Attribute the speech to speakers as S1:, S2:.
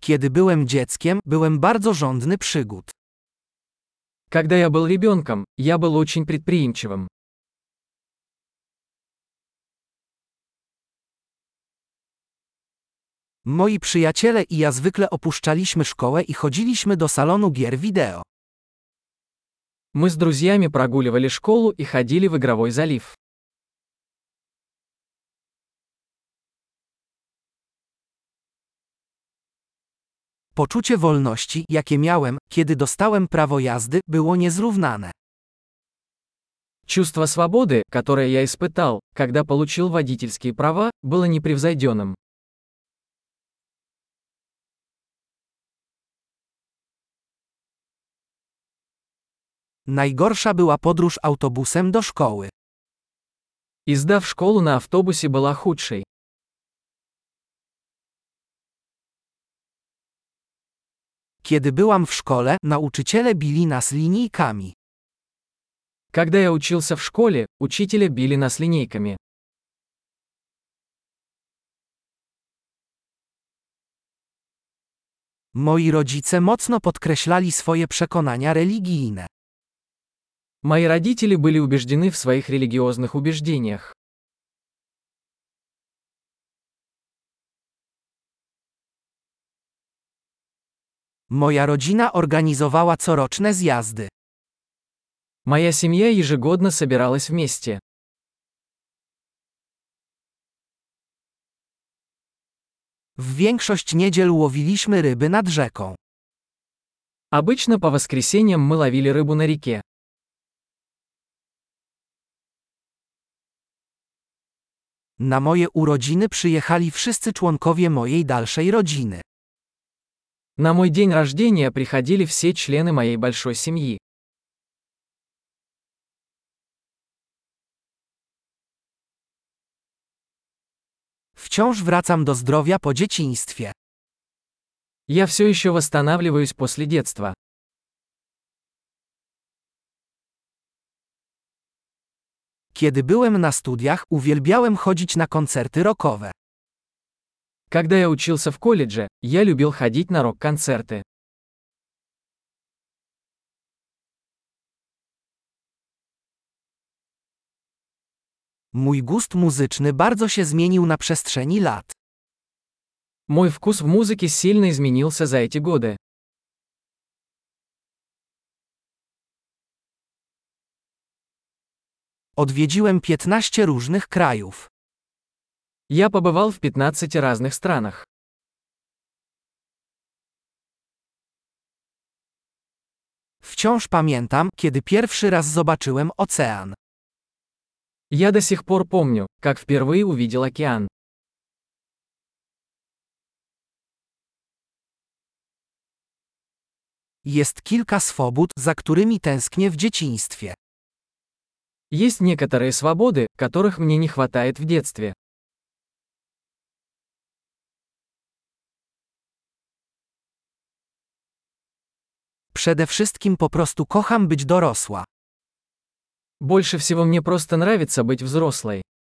S1: Kiedy byłem dzieckiem, byłem bardzo żądny przygód.
S2: Когда я был ребенком, я был очень предприимчивым.
S1: Moi przyjaciele i ja zwykle opuszczaliśmy szkołę i chodziliśmy do salonu gier wideo.
S2: Мы с друзьями прогуливали школу и ходили в игровой залив.
S1: Poczucie wolności, jakie miałem, kiedy dostałem prawo jazdy, było niezrównane.
S2: Чувство свободы, которое я испытал, когда получил водительские права, было непревзойденным.
S1: Najgorsza była podróż autobusem do szkoły.
S2: Езда в школу на автобусе была худшей.
S1: Kiedy byłam w szkole, nauczyciele bili nas linijkami.
S2: Когда я учился в школе, учителя били нас линейками.
S1: Moi rodzice mocno podkreślali swoje przekonania religijne.
S2: Мои родители были убеждены в своих религиозных убеждениях.
S1: Moja rodzina organizowała coroczne zjazdy.
S2: Моя семья ежегодно собиралась вместе.
S1: W większość niedziel łowiliśmy ryby nad rzeką.
S2: Обычно по воскресеньям мы ловили рыбу на реке.
S1: Na moje urodziny przyjechali wszyscy członkowie mojej dalszej rodziny.
S2: На мой день рождения приходили все члены моей большой семьи.
S1: Wciąż wracam do zdrowia po dzieciństwie.
S2: Я все еще восстанавливаюсь после детства.
S1: Kiedy byłem na studiach, uwielbiałem chodzić na koncerty rockowe.
S2: Когда я учился в колледже, я любил ходить на рок-концерты.
S1: Mój gust muzyczny bardzo się zmienił na przestrzeni lat.
S2: Мой вкус в музыке сильно изменился за эти годы.
S1: Odwiedziłem 15 różnych krajów.
S2: Я побывал в 15 разных странах.
S1: Wciąż pamiętam, kiedy pierwszy raz zobaczyłem ocean.
S2: Я до сих пор помню, как впервые увидел океан.
S1: Jest kilka swobód, za którymi tęsknię w dzieciństwie.
S2: Есть некоторые свободы, которых мне не хватает в детстве.
S1: Przede wszystkim po prostu kocham być dorosła.
S2: Больше всего мне просто нравится быть взрослой.